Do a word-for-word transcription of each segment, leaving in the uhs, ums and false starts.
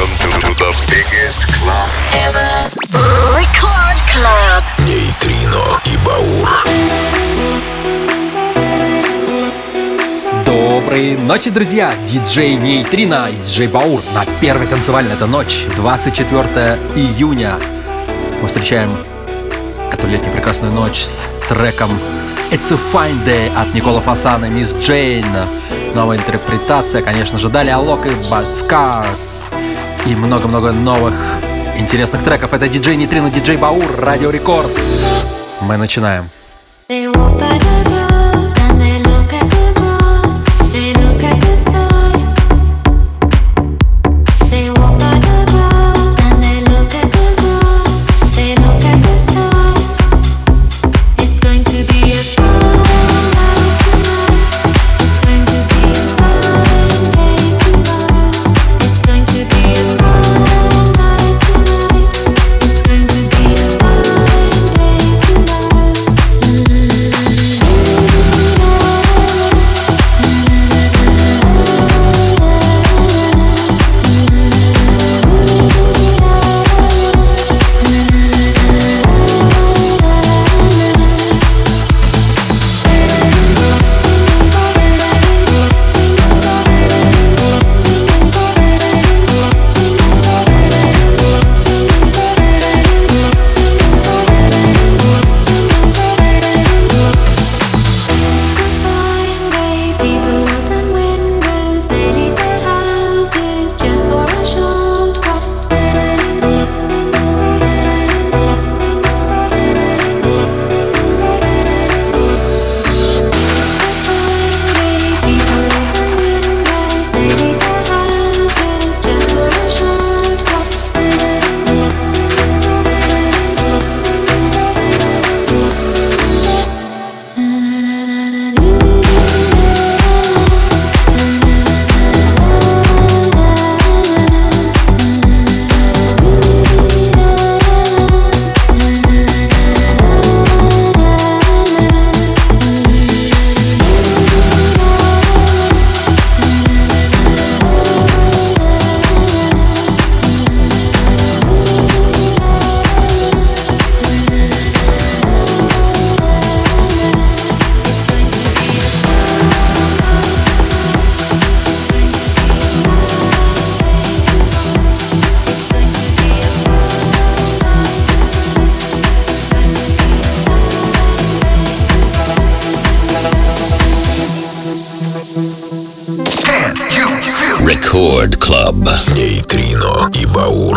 Welcome to, to the biggest club ever. Record Club. Нейтрино и Баур. Доброй ночи, друзья! Диджей Нейтрино и диджей Баур на первой танцевальной. Это ночь, двадцать четвёртого июня. Мы встречаем эту летнюю прекрасную ночь с треком It's a Fine Day от Никола Фасана и Мисс Джейн. Новая интерпретация, конечно же, далее Алок и Баскар. И много-много новых интересных треков. Это диджей Нейтрино, диджей Баур, Радио Рекорд. Мы начинаем. Record Club. Нейтрино и Баур.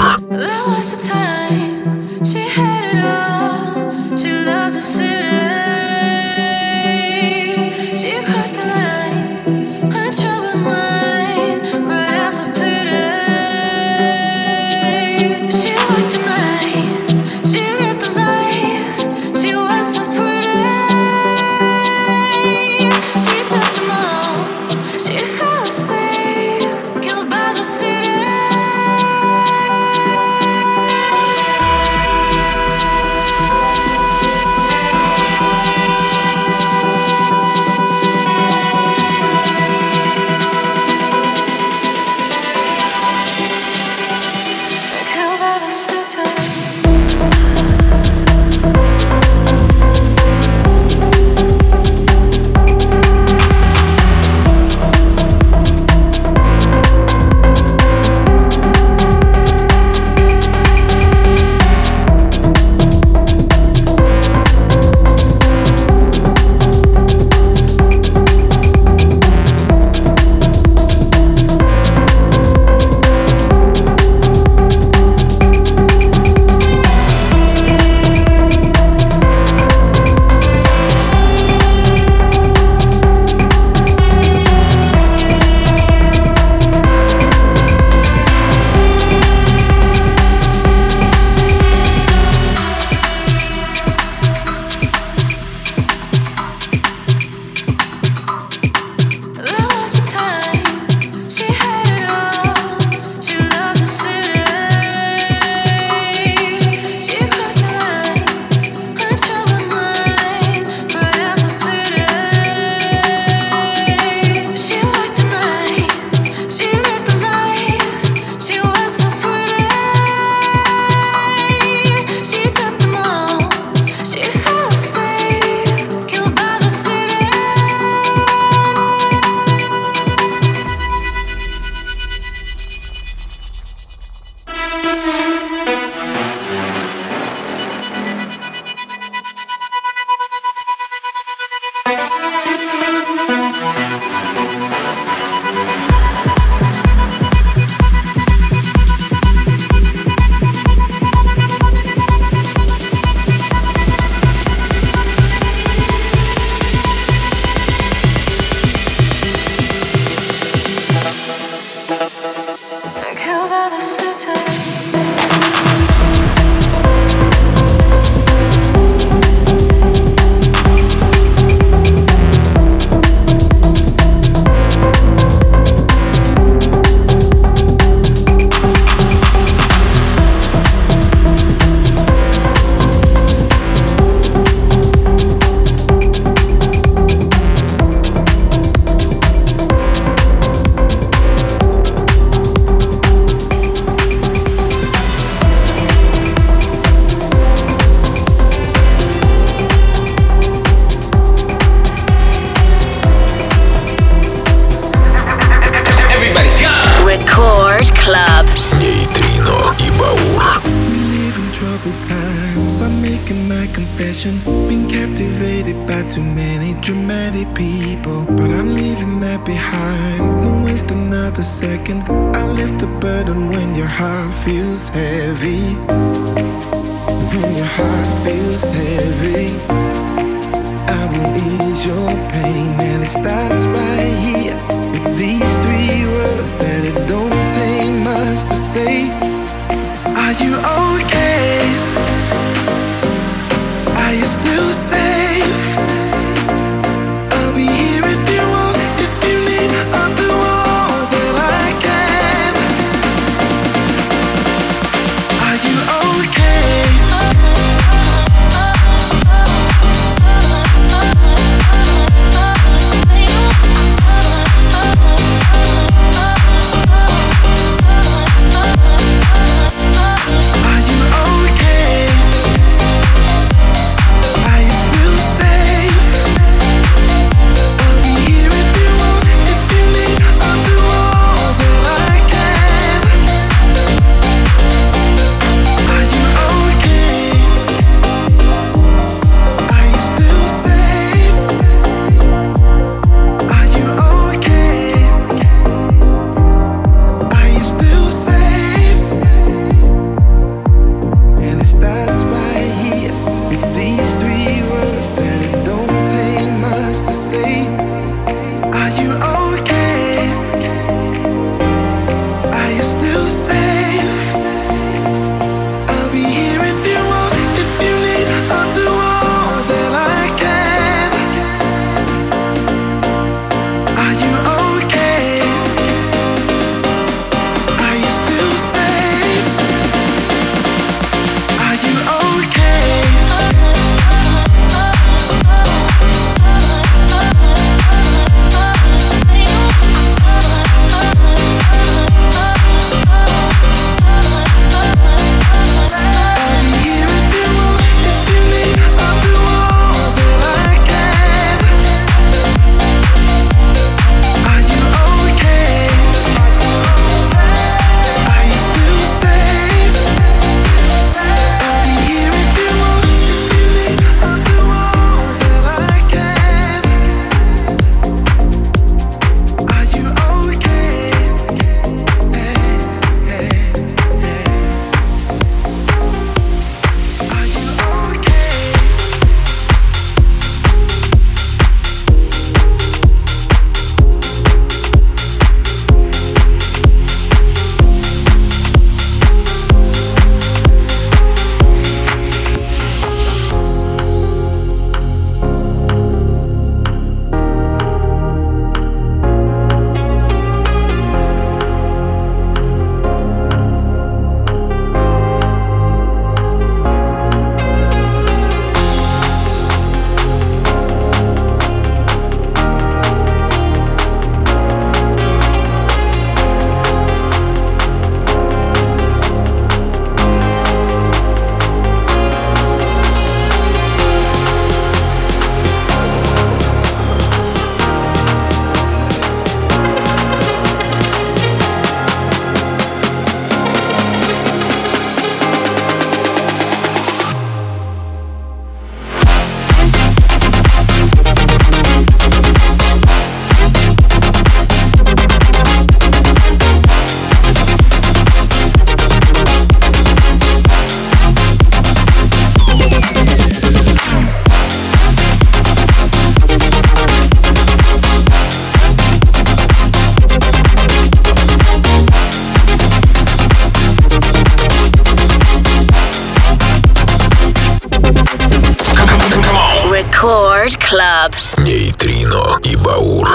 Been captivated by too many dramatic people, but I'm leaving that behind. Won't waste another second. I lift the burden when your heart feels heavy. When your heart feels heavy, I will ease your pain, and it starts right here with these three words that it don't take much to say. Are you okay? Are you still safe? I'll be here if you want, if you need. I'll do all that I can. Are you okay? Club. Нейтрино и Баур.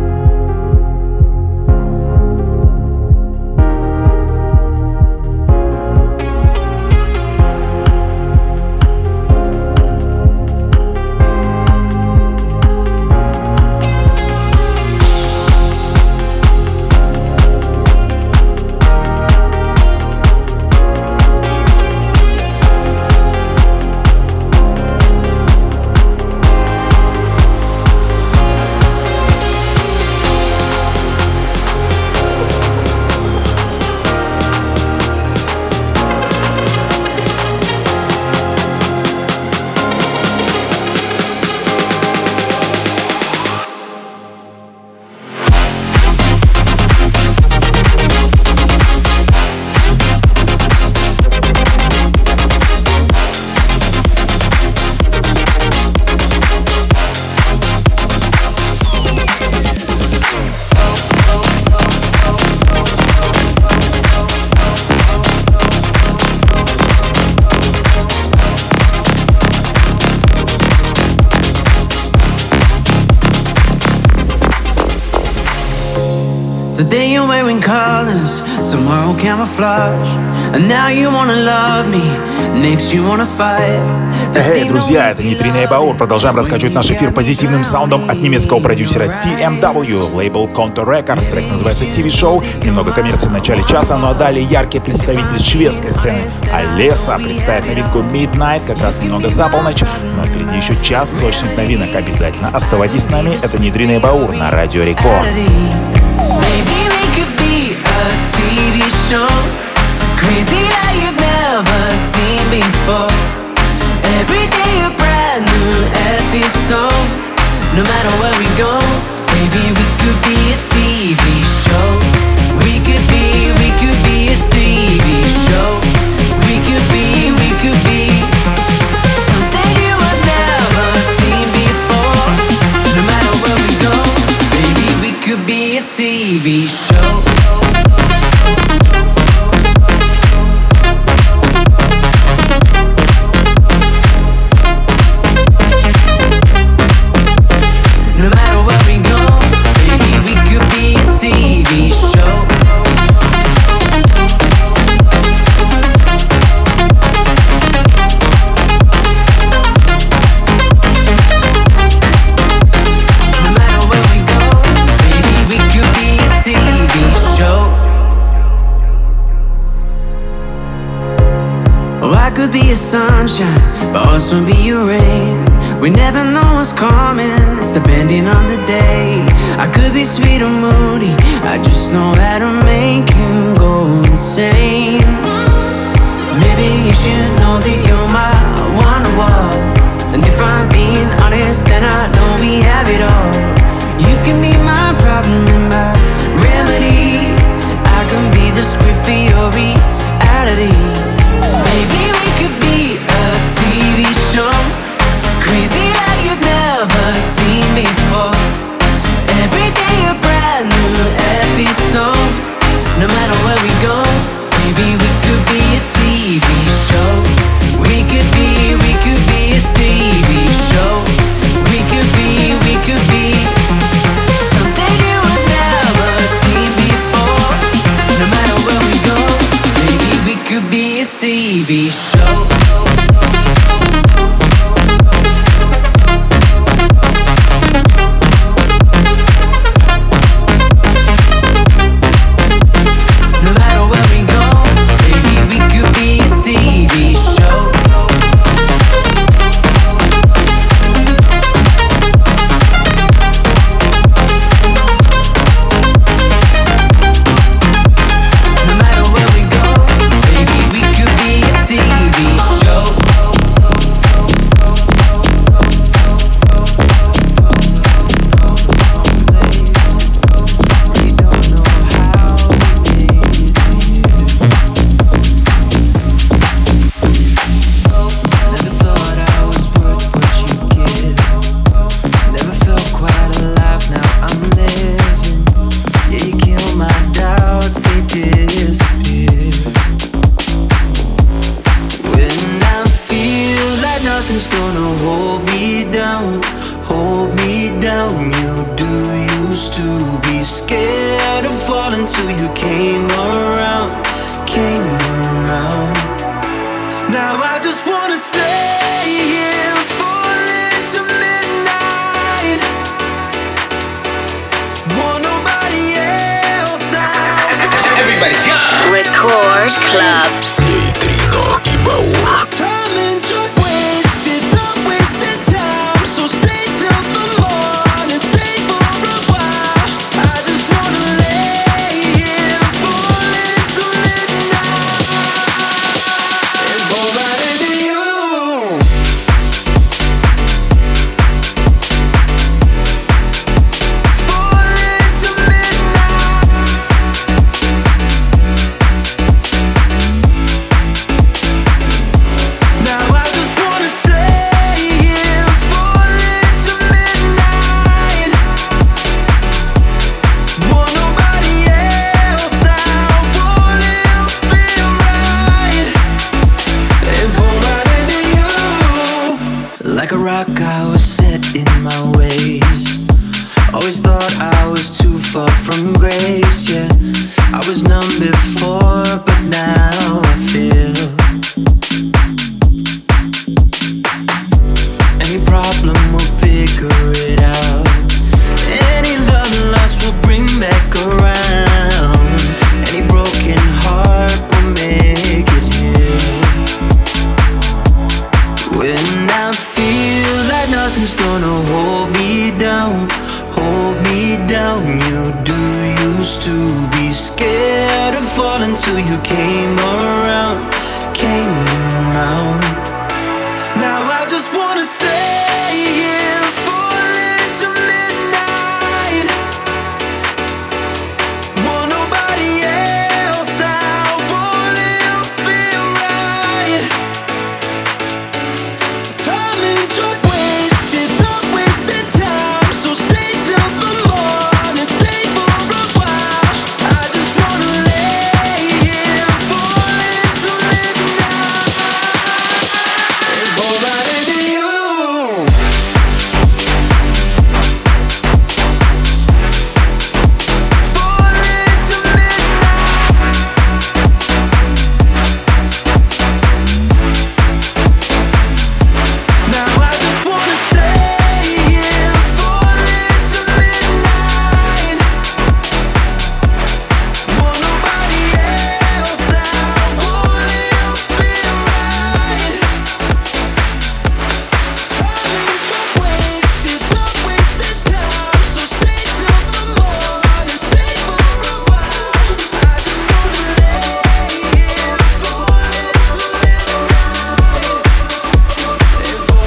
Today you're wearing colors, tomorrow camouflage. And now you wanna love me, next you wanna fight. Эй, друзья, это Нейтрино и Баур. Продолжаем раскачивать наш эфир позитивным саундом от немецкого продюсера ти эм дабл ю. Лейбл Contour Records. Трек называется ти ви-шоу. Немного коммерции в начале часа, ну а далее яркий представитель шведской сцены Алеса представит новинку Midnight, как раз немного за полночь. Но впереди еще час сочных новинок. Обязательно оставайтесь с нами. Это Нейтрино и Баур на Радио Рекорд. Crazy that you've never seen before. Every day a brand new episode. No matter where we go, maybe we could be a T V show. We could be, we could be a T V show. We could be, we could be something you have never seen before. No matter where we go, maybe we could be a T V show. Could be a sunshine, but also be your rain. We never know what's coming, it's depending on the day. I could be sweet or moody, I just know how to make you go insane. Maybe you should know that you're my wonderwall. And if I'm being honest, then I know we have it all. You can be my problem and my remedy. I can be the script for your reality. Maybe we could be a T V show. Crazy that you've never seen before. Every day a brand new episode. No matter where we go, maybe we could be a T V show. We could be, we could be a T V show. We could be, we could be something you have never seen before. No matter where we go, maybe we could be a T V show. T V show. Record Club. Нейтрино и Баур. Like a rock, I was set in my ways. Always thought I was too far from grace, yeah. I was numb before, but now I feel. Any problem, we'll figure it out. Any love lost, we'll bring back around. Any broken heart, we'll make it heal. When I feel like nothing's gonna hold me down, hold me down. You do used to be scared of falling till you came around, came around. Now I just wanna stay here, falling to midnight. Want nobody else now, won't it feel right? Time ain't your waste, it's not wasted time. So stay till the morning, stay for a while. I just wanna lay here, falling to midnight. And fall right into you. Falling to midnight. Now I just wanna stay here, falling to midnight. Want nobody else now, won't it feel right? Time ain't your waste, it's not wasted time. So stay till the morning, stay for a while. I just wanna lay here, falling to midnight. And fall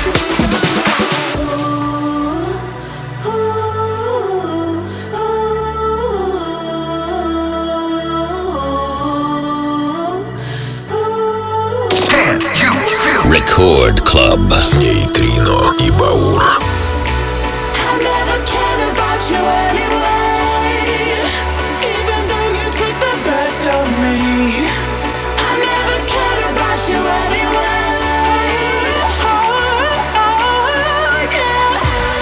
Record Club. Нейтрино и Баур. I never cared about you anyway, even though you took the best of me. I never cared about you anyway. Oh, oh, yeah.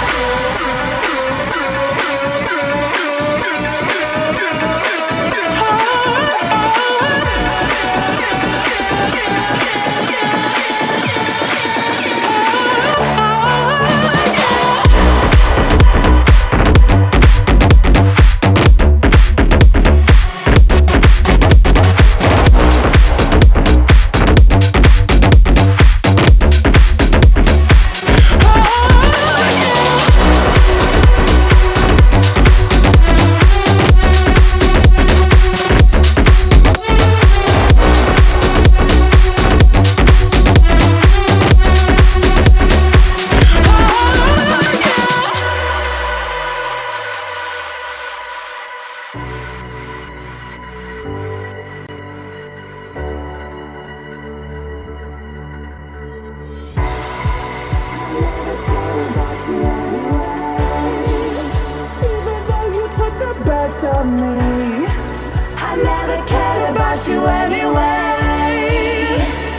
Even though you took the best of me, I never cared about you anyway.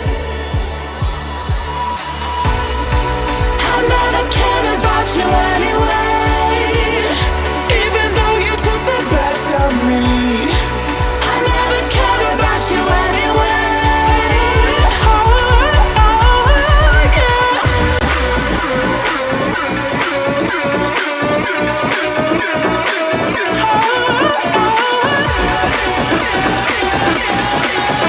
I never cared about you anyway. Even though you took the best of me, I never cared about you anyway. Oh, oh, yeah. Oh, oh,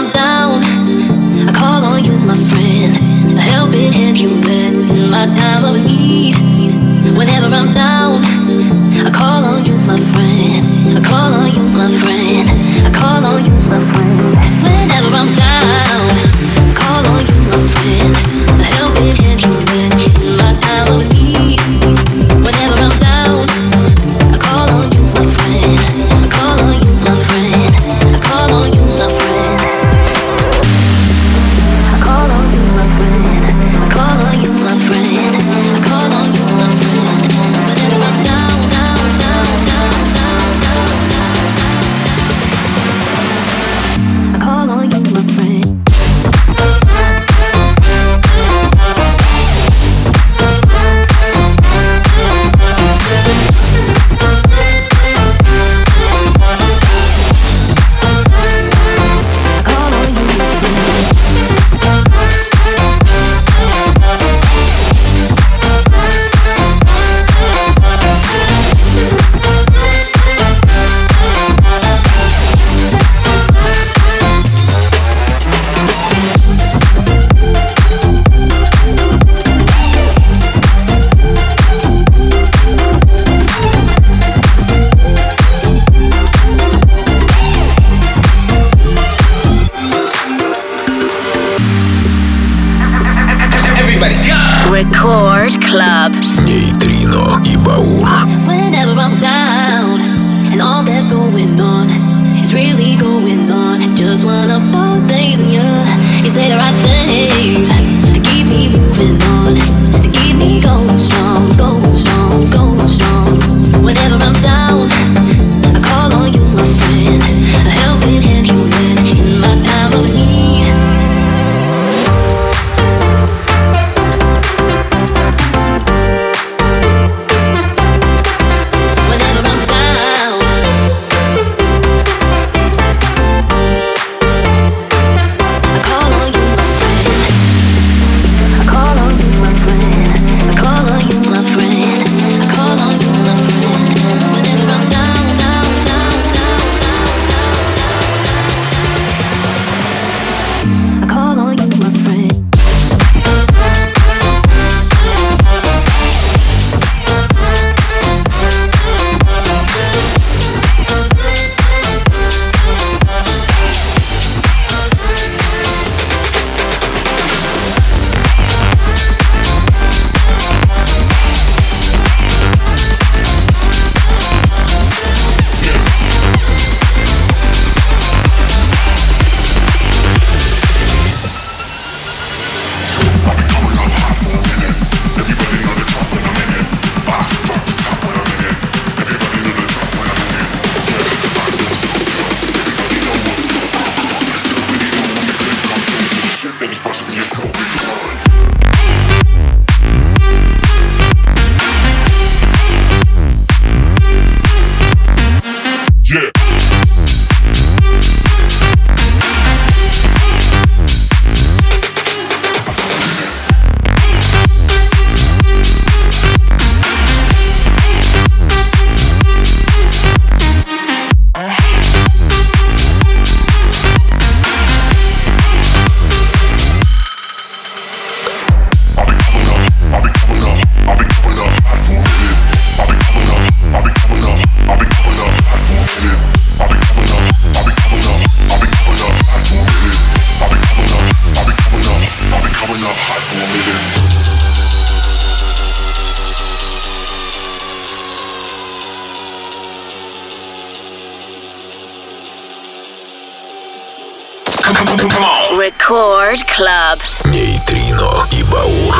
I'm down, I call on you, my friend. A helping hand you lend in my time of need. Whenever I'm down, I call on you, my friend. I call on you, my friend. I call on you, my friend. Whenever I'm down, I call on you, my friend. A helping hand you lend in my time of need. Whenever I'm down, I call on you, my friend. I call on you, my friend. I call on you, my friend. I call on you, my friend. I call on you, my friend. I call on you, my friend. Whenever I'm down, down, down, down, down, down, I call on you, my friend. Record Club. Нейтрино и Баур. Whenever I'm down and all that's going on is really going on, it's just one of those days and you you say the right things to keep me moving on, to keep me going strong, going strong, going strong. Whenever I'm down, I call on you, my friend. A helping hand you lend in my time of need. Record Club. Нейтрино и Баур.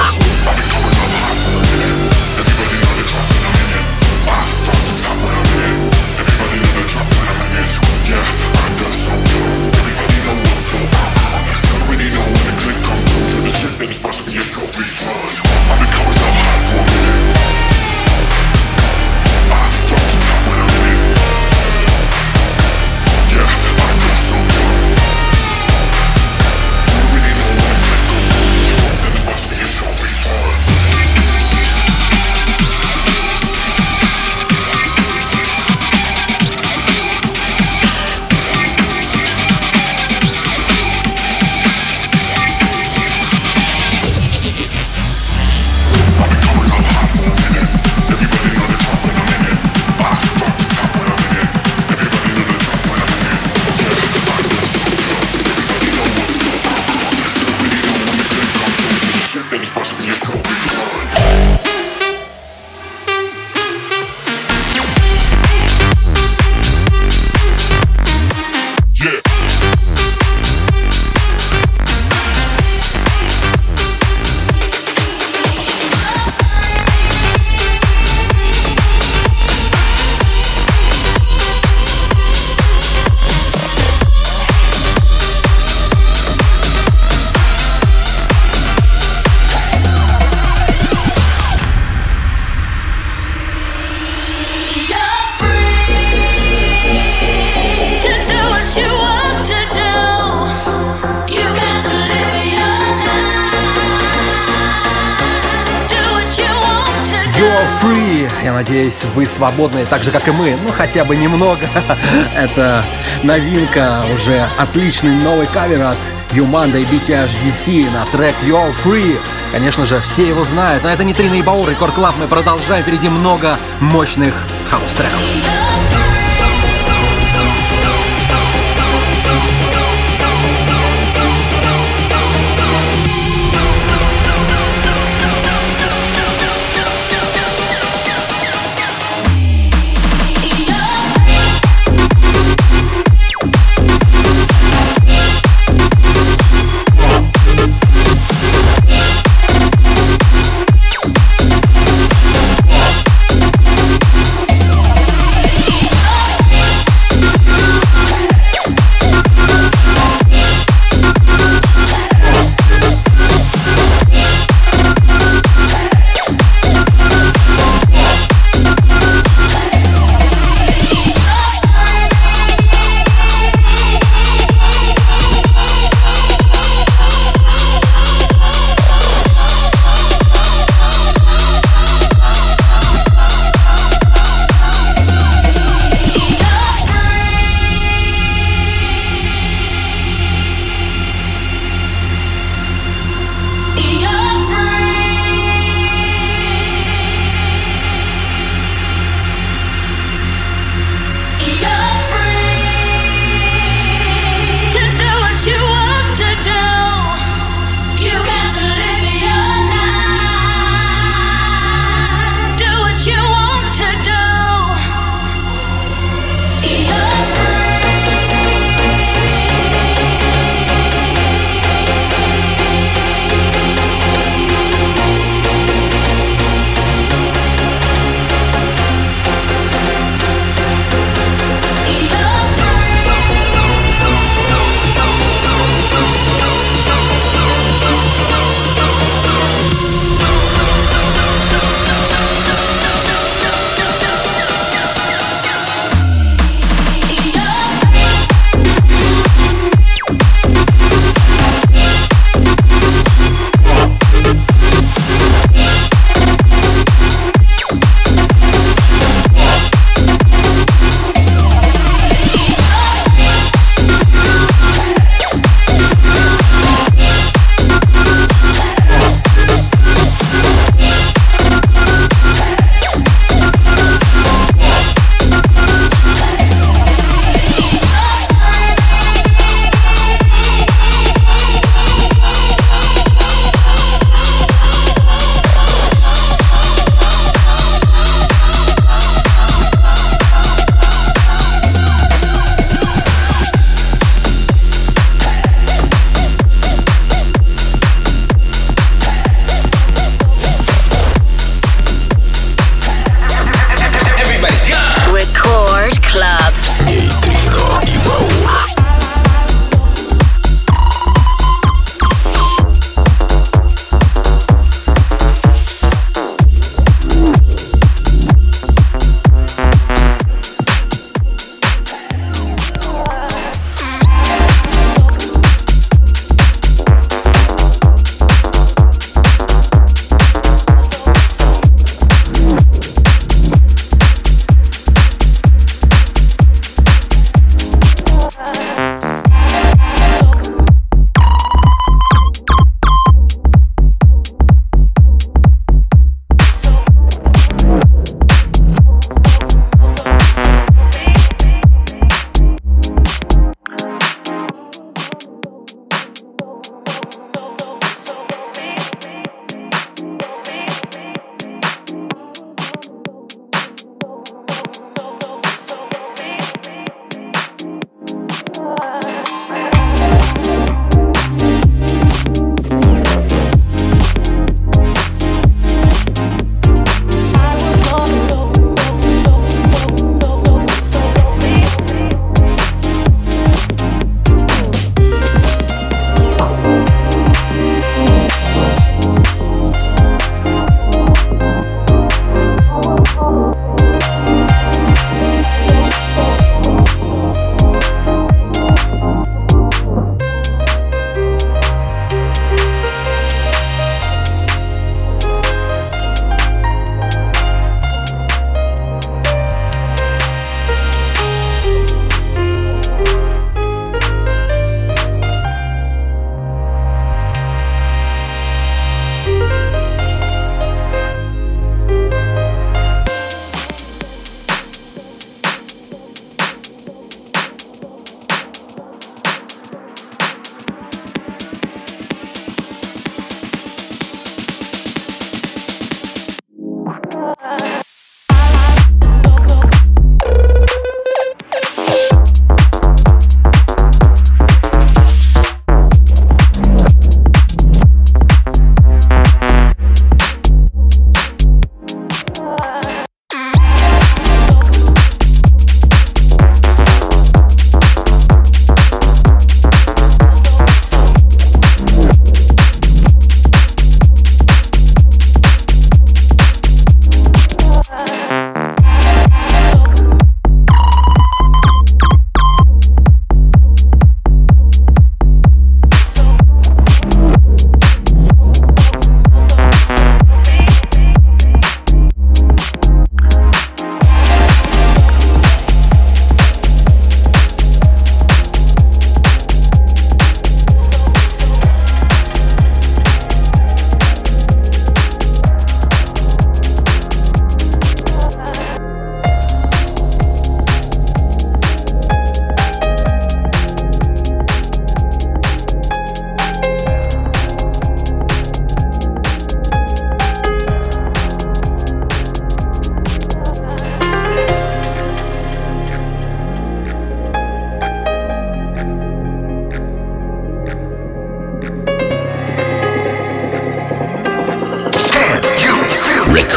Yeah, Я надеюсь, вы свободны, так же, как и мы, ну хотя бы немного. Это новинка, уже отличный новый кавер от Юманда и би ти эйч ди си на трек You're Free. Конечно же, все его знают, но это не Трина и Баур, Рекорд Клаб. Мы продолжаем, впереди много мощных хаус-треков.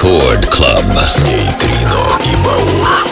Record Club. Нейтрино и Баур.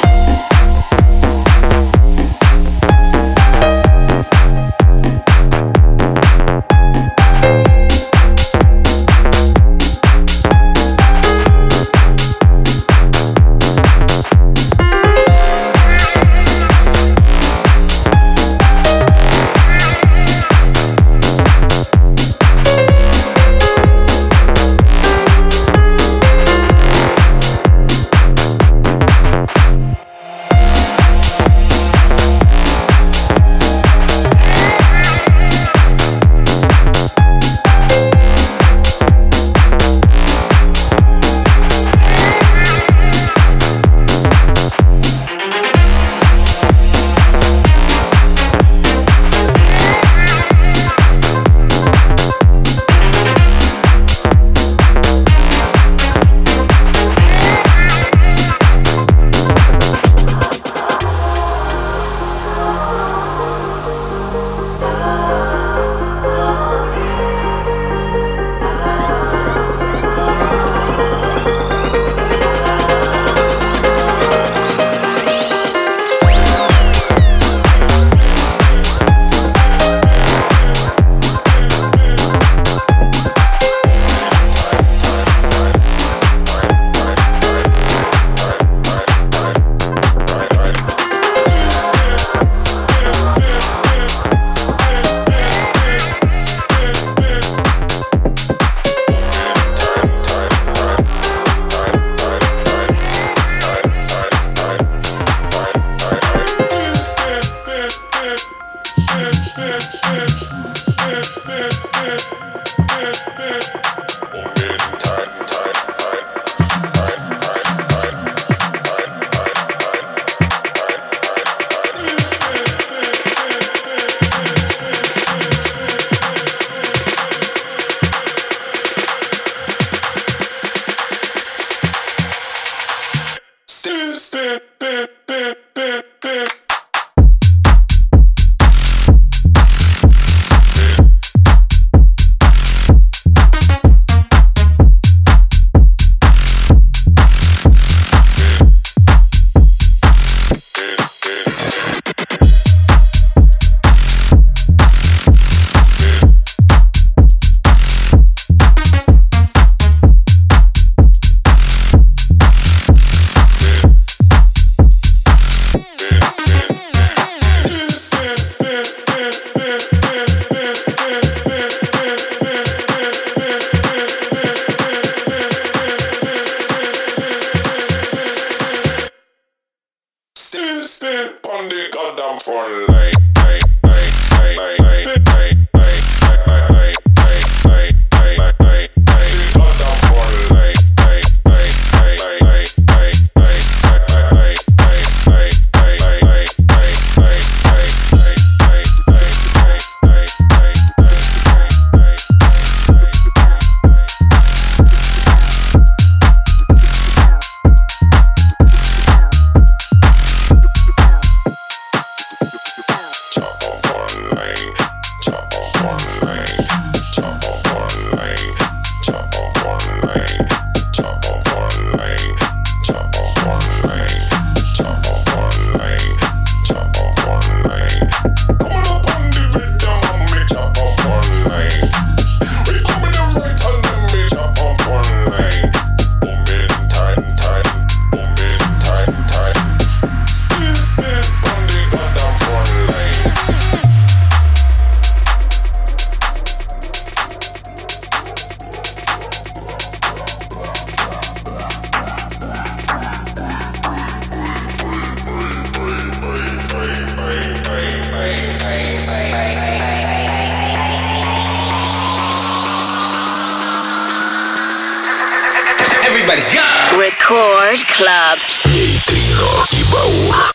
Record Club. Нейтрино и Баур.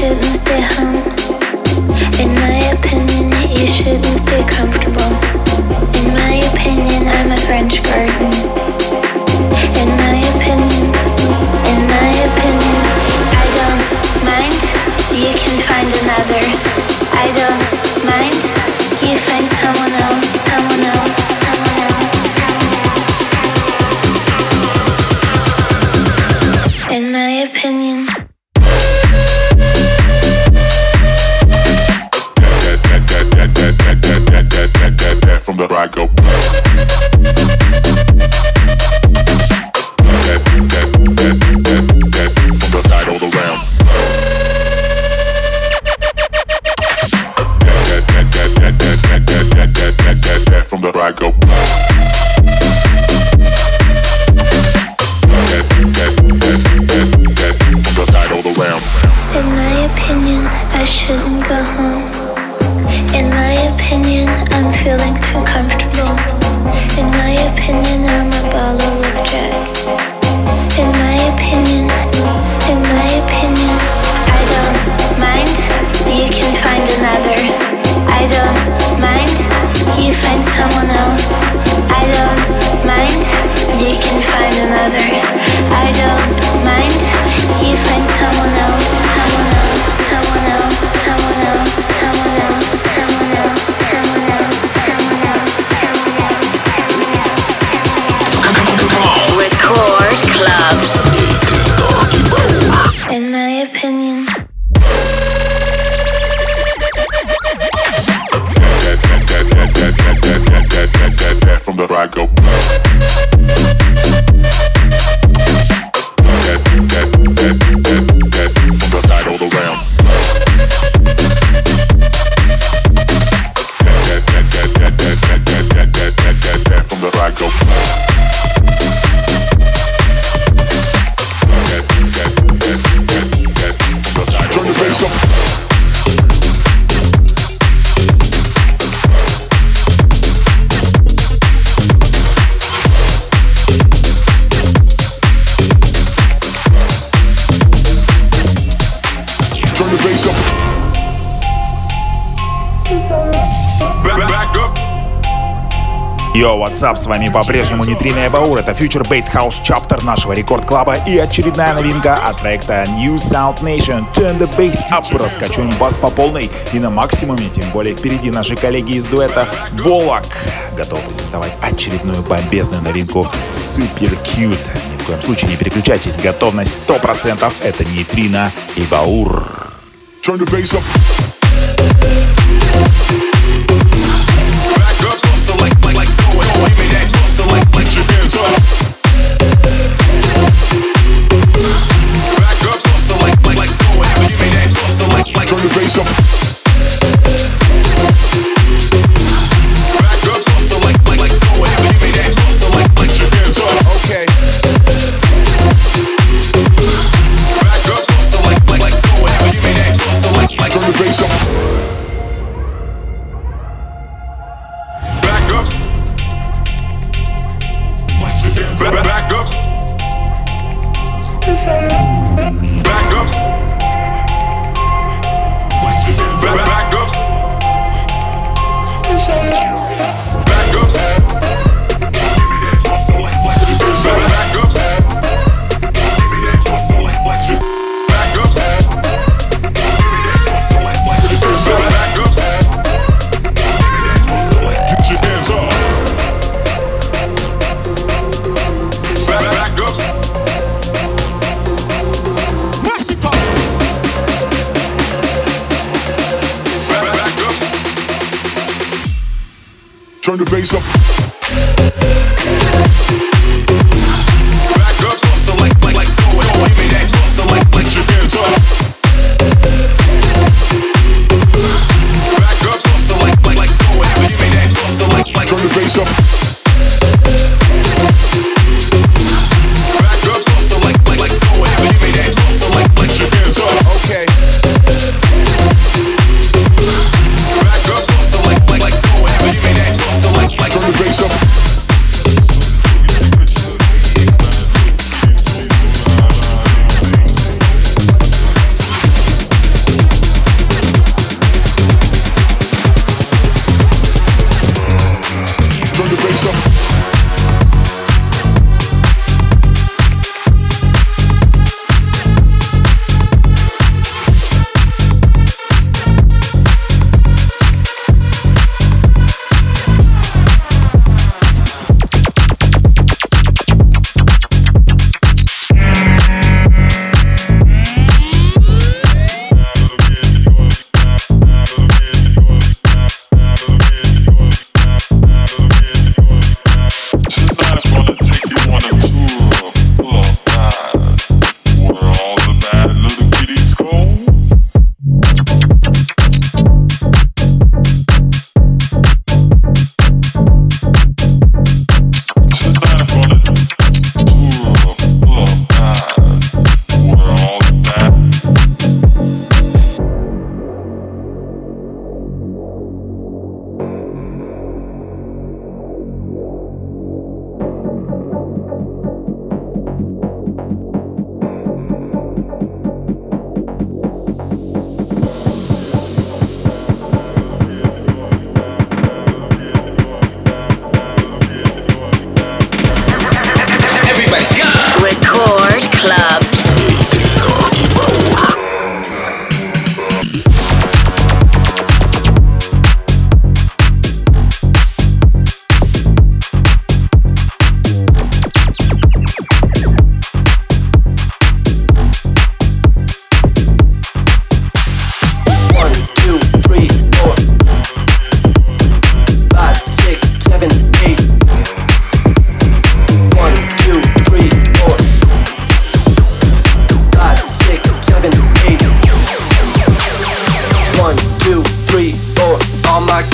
shouldn't stay home. In my opinion, you shouldn't stay comfortable. In my opinion, I'm a French garden. In my opinion, in my opinion, I don't mind. You can find another. I don't mind. You find someone else, someone else, someone else. In my opinion. From the I go. From the side all around. From the I go. From the side all around. In my opinion, I shouldn't go home. In my opinion, I'm feeling too comfortable. In my opinion, I'm a bottle of Jack. In my opinion, in my opinion, I don't mind. You can find another. I don't mind. You find someone else. I don't mind. You can find another. I don't mind. You find someone else. Someone else. Someone else. Someone else. Someone else. Someone else. Someone else. Someone else. Record Club. In my opinion. From the I go. From the side all around. From the I go. Turn the bass up. Йо, what's up, с вами по-прежнему Нейтрино и Баур. Это Future Bass House Chapter нашего рекорд-клаба и очередная новинка от проекта New Sound Nation. Turn the Bass Up. Раскачиваем бас по полной и на максимуме. Тем более впереди наши коллеги из дуэта Волок готовы презентовать очередную бомбезную новинку Super Cute. Ни в коем случае не переключайтесь. Готовность сто процентов. Это Нейтрино и Баур. Turn the bass up. Turn the bass up. Back up, so like, like, like, go ahead, give me that, so like, like your hands up. Okay. Back up, so like, like, like, go ahead, give me that, so like, like. Turn the bass up. Back up. Back, back up. Back up. Back up. Back up. Back up. Give me that muscle like black. Back up. Give me that muscle like black. Back up. Give me that muscle like black. Back up. Give me that muscle like. Get your hands up. Back, back up. Turn the bass up. Back up, so like, like, like, go ahead, give me that, so like, like your hands up. Back up, so like, like, like, go ahead, give me that, so like, like. Turn the bass up. Back up, so like, like, like, go ahead, give me that, so like, like your hands up. Okay. Back up, so like, like, like, go ahead, give me that, so like, like. Turn the bass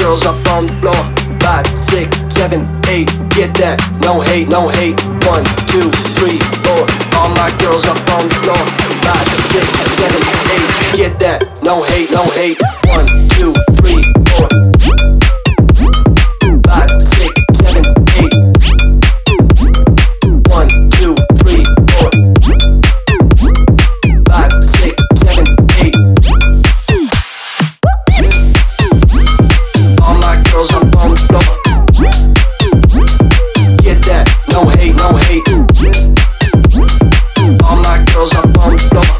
girls up on the floor. Five, six, seven, eight, get that. No hate, no hate. One, two, three, four. All my girls up on the floor. Five, six, seven, eight, get that. No hate, no hate. One, two, three, four. Five, six, seven, eight. One, two, three, four. Five, six, seven, eight. All my girls up on the floor. Get that, no hate, no hate. All my girls up on the floor.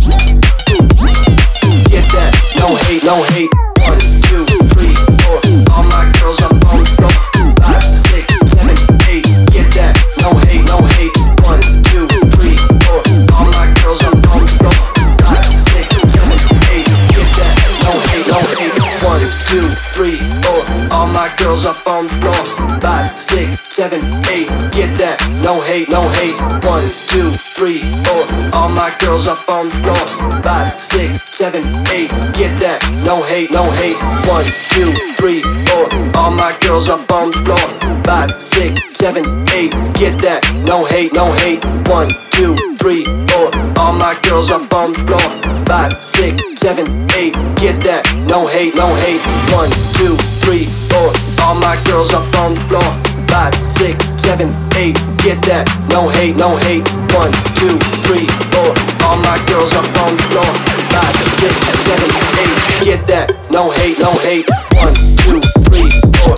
Get that, no hate, no hate. One, two, three, four. All my girls up on the floor. Five, six, seven, eight. Get that, no hate, no hate. One, two, three, four. All my girls up on the floor. Five, six, seven, eight. Get that, no hate, no hate. One, two, three, four. All my girls up on the floor. Five, six, seven, eight. Get that, no hate, no hate. One, two, three, four. All my girls up on the floor. Five, six, seven, eight. Get that, no hate, no hate. One, two, three, four. All my girls up on the floor. Five, six, seven, eight. Get that, no hate, no hate. One, two, three, four. All my girls up on the floor. Five, six, seven, eight. Get that, no hate, no hate. One, two, three, four. All my girls up on the floor. Five, six, seven, eight. Get that, no hate, no hate. One, two, three, four. All my girls up on the floor. Five, six, seven, eight. Get that, no hate, no hate. One, two, three, four.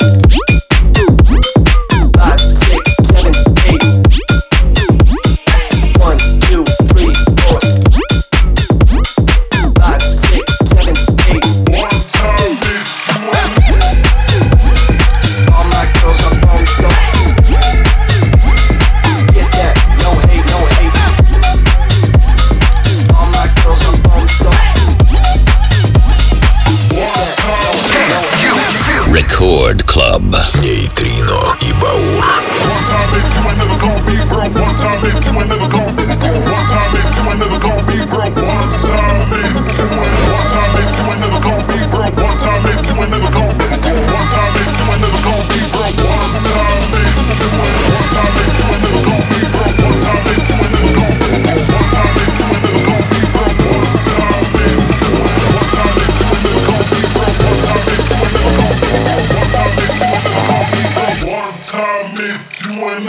Five, six, seven, eight. One, two, three, four. Five, six, seven, eight. One time, all my girls up on the floor. Get that, no hate, no hate. All my girls up on the floor. Record Club. Нейтрино и Баур. One time if you ain't never gonna be broke. One time if you ain't never gonna be broke. One time if you ain't never gonna be broke. One time if you ain't one time if you ain't never gonna be broke. One time if you ain't never gonna be broke. One time if you ain't never gonna be broke. One time if you ain't one time if you ain't never gonna be broke. One time if you ain't never gonna be broke. One time if you ain't never gonna be broke. One time if you one time if you ain't never gonna be broke. One time if you ain't never gonna be broke. One time if you ain't never gonna be broke. One time if you ain't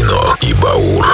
Нейтрино и Баур.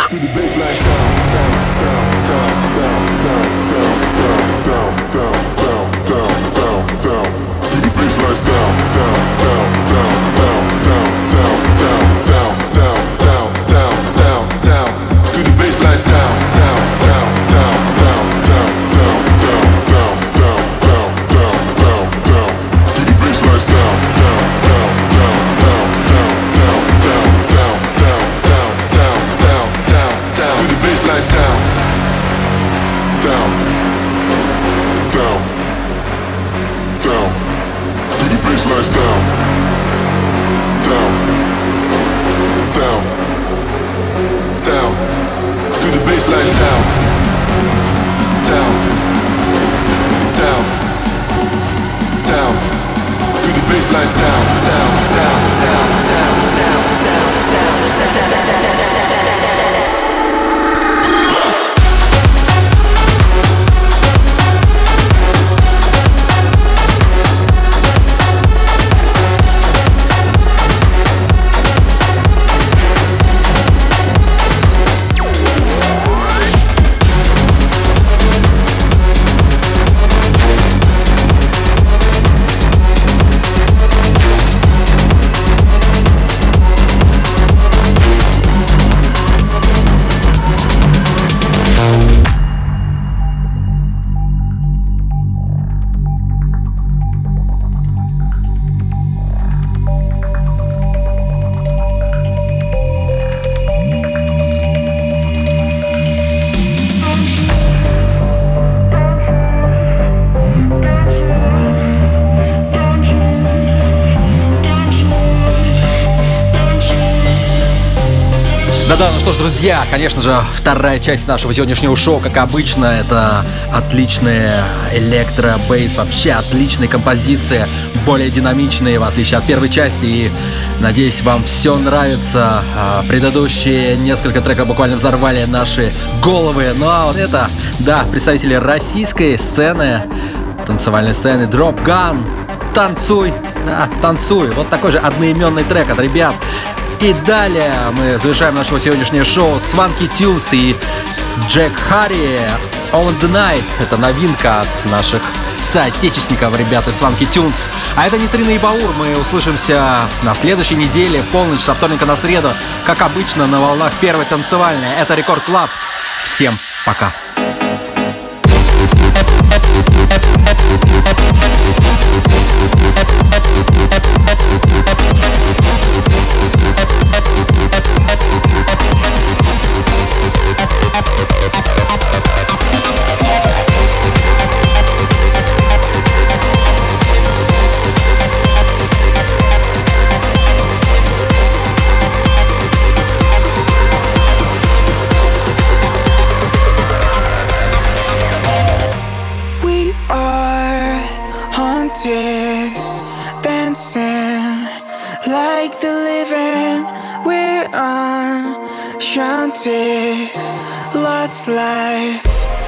Да-да, ну что ж, друзья, конечно же, вторая часть нашего сегодняшнего шоу, как обычно, это отличные электро-бейс, вообще отличные композиции, более динамичные, в отличие от первой части, и надеюсь, вам все нравится. Предыдущие несколько треков буквально взорвали наши головы, ну а вот это, да, представители российской сцены, танцевальной сцены Drop Gun, танцуй, да, танцуй, вот такой же одноименный трек от ребят. И далее мы завершаем нашего сегодняшнего шоу с Swanky Tunes и Джек Харри On The Night. Это новинка от наших соотечественников, ребят из Swanky Tunes. А это Нейтрино и Баур. Мы услышимся на следующей неделе, в полночь, со вторника на среду, как обычно, на волнах первой танцевальной. Это Рекорд Клаб. Всем пока. Lost life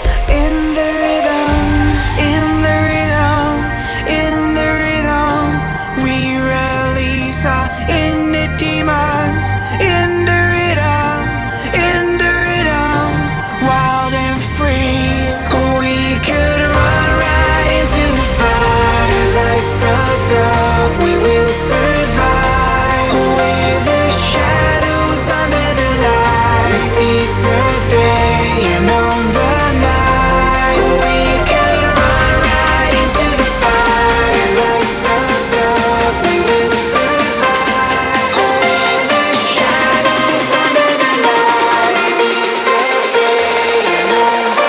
in the rhythm, in the rhythm, in the rhythm. We release our inner demons in the rhythm, in the rhythm. Wild and free, we could run right into the fire. Lights us up, we will survive. With the shadows under the light, we seize the day and own the night. We could run right into the fire. Lights us up, we will survive. With the shadows under the light, we seize the day and own the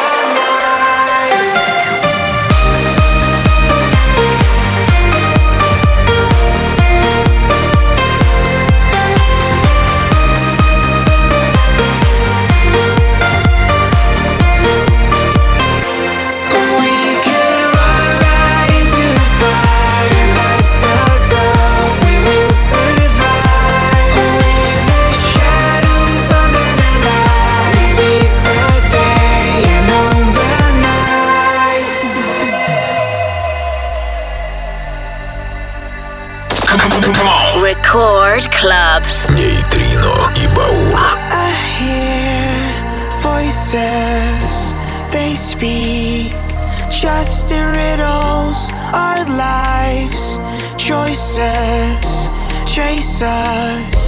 Record Club. Нейтрино и Баур. I speak. Just in riddles, our lives, choices, chase us.